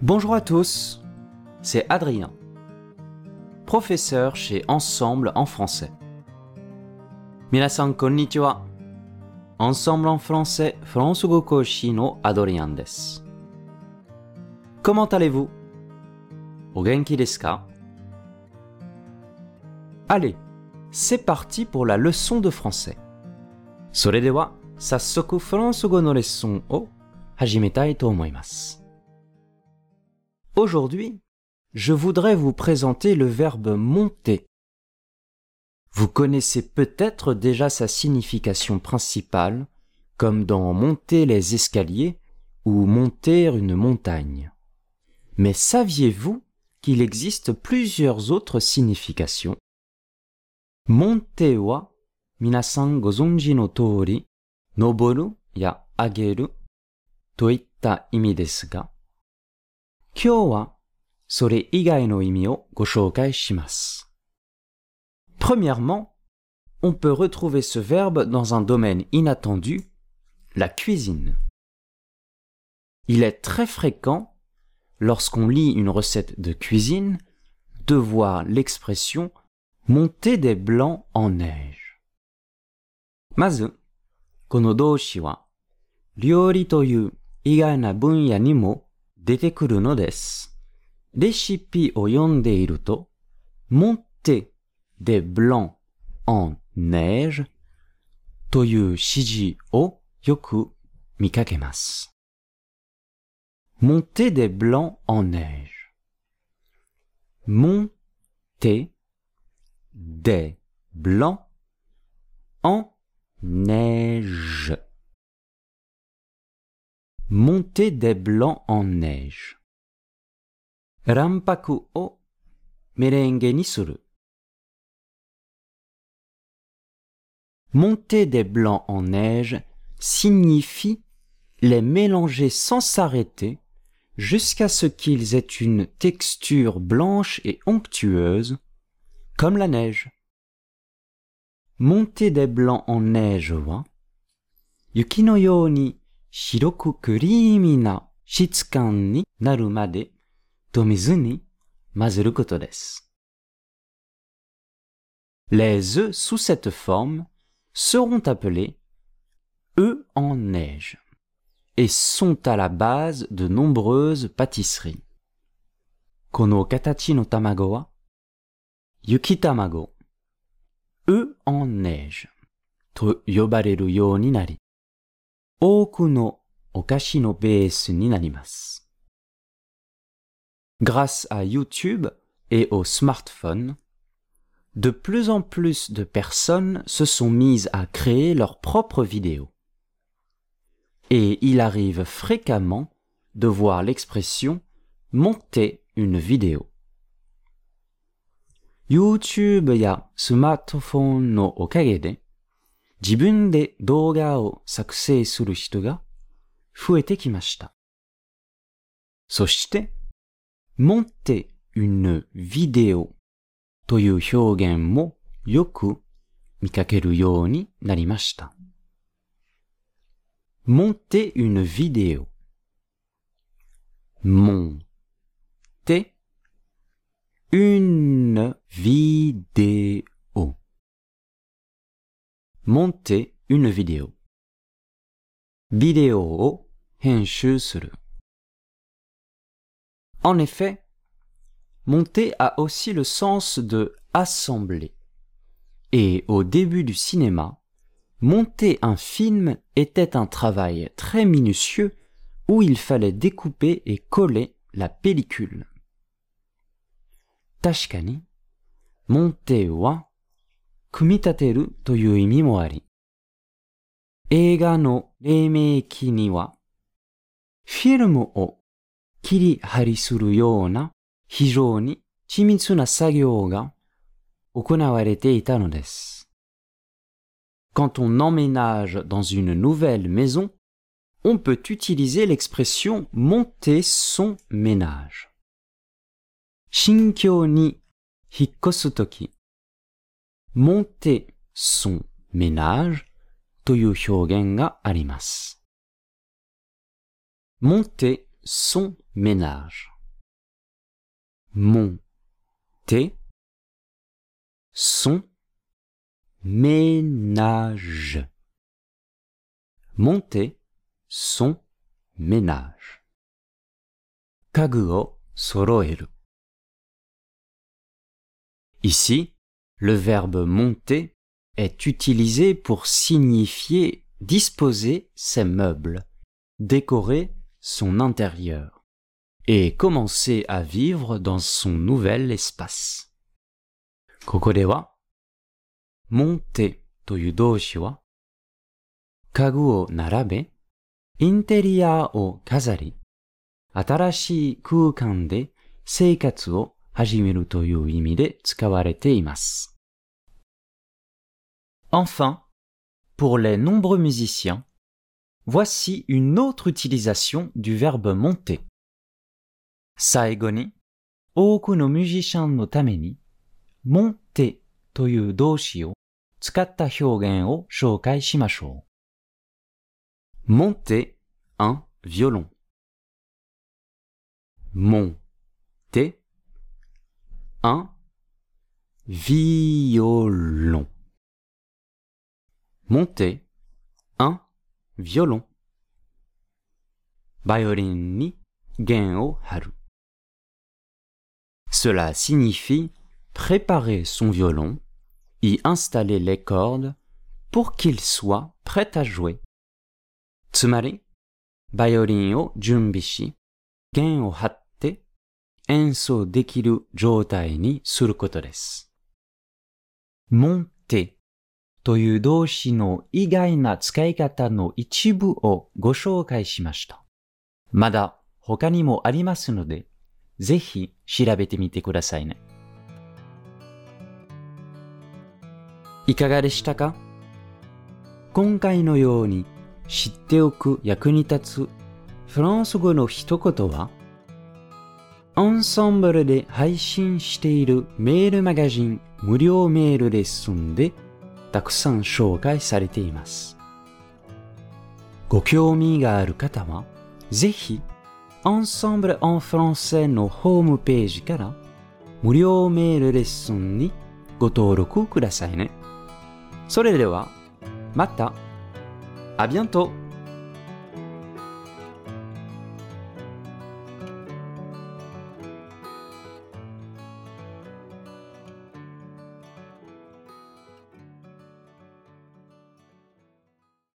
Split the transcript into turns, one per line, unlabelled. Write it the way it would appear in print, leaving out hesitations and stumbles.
Bonjour à tous, c'est Adrien, professeur chez Ensemble en français. Minasan konnichiwa. Ensemble en français, Français Koshi no Adrien desu. Comment allez-vous? O genki desu ka? Allez, c'est parti pour la leçon de français. それでは、早速フランス語のレッスンを始めたいと思います。Aujourd'hui, je voudrais vous présenter le verbe monter. Vous connaissez peut-être déjà sa signification principale, comme dans monter les escaliers ou monter une montagne. Mais saviez-vous qu'il existe plusieurs autres significations? Monter wa minasan gozonji no toori, noboru ya ageru to itta imi desu ga, kyou wa sore igai no imi o go shoukai shimasu. Premièrement, on peut retrouver ce verbe dans un domaine inattendu, la cuisine. Il est très fréquent, lorsqu'on lit une recette de cuisine, de voir l'expression « monter des blancs en neige ». Mazu, kono doushi wa, ryori to yu igai na bunya ni mo detekuru no desu. Reshipi o yondeiru to, monter des blancs en neige to yu shiji o yoku mikakemasu. Monter des blancs en neige. Monter des blancs en neige. Monter des blancs en neige. Ranpaku o merenge ni suru. Monter des blancs en neige signifie les mélanger sans s'arrêter jusqu'à ce qu'ils aient une texture blanche et onctueuse, comme la neige. Monter des blancs en neige wa, yuki no you ni shiroku creamy na shitsukan ni naru made to mizu ni mazuru koto desu. Les œufs sous cette forme seront appelés œufs en neige et sont à la base de nombreuses pâtisseries. Kono katachi no tamago wa yuki tamago, œufs en neige, to yobareru you ni nari, oku no okashi no beesu ni narimasu. Grâce à YouTube et aux smartphones, de plus en plus de personnes se sont mises à créer leurs propres vidéos. Et il arrive fréquemment de voir l'expression « monter une vidéo ». YouTube ya smartphone no okage de, jibun de douga o sakusei suru hito ga fuete kimashita. Soshite, monter une vidéo to yu hyougen mo yoku mikakeru you ni narimashita. Monter une vidéo. Monter une vidéo. Monter une vidéo. Vidéo o henshu suru. En effet, monter a aussi le sens de assembler. Et au début du cinéma, monter un film était un travail très minutieux où il fallait découper et coller la pellicule. Tashikani, monter wa kumitateru to yu imi mo ari. Eiga no reimeki ni wa, filmu o kirihari suru you na hijou ni chimitsu na sagyou ga okonawarete ita no desu. Quand on emménage dans une nouvelle maison, on peut utiliser l'expression « monter son ménage ». Shinkyou ni hikkosu toki, monter son ménage to yu hyougen ga arimasu. Monter son ménage. monter son ménage. Monter son ménage. 家具を揃える. Ici, le verbe monter est utilisé pour signifier disposer ses meubles, décorer son intérieur et commencer à vivre dans son nouvel espace. ここでは、monter という動詞は、家具を並べ、インテリアを飾り、新しい空間で生活を始めるという意味で使われています。Enfin, pour les nombreux musiciens, voici une autre utilisation du verbe monter. 最後に、多くのミュージシャンのために、monter という動詞を使った表現を紹介しましょう。monter un violon. Monter un violon. Monter un violon. バイオリンに弦を張る。Cela signifie préparer son violon, y installer les cordes pour qu'il soit prêt à jouer. つまり、バイオリンを準備し、弦を張って演奏できる状態にすることです。monter という動詞の意外な使い方の一部をご紹介しました。まだ他にもありますので、ぜひ調べてみてくださいね。いかがでしたか？今回のように知っておく役に立つフランス語の一言は、アンサンブルで配信しているメールマガジン無料メールレッスンでたくさん紹介されています。ご興味がある方は、ぜひ、Ensemble en français のホームページから無料メールレッスンにご登録くださいね。それでは、また、à bientôt!